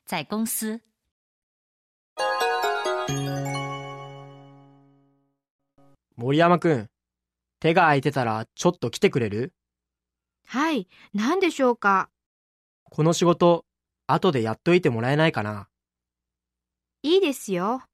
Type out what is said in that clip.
在公司。 森山くん、手が空いてたらちょっと来てくれる？ はい、何でしょうか。 この仕事、後でやっといてもらえないかな？ いいですよ。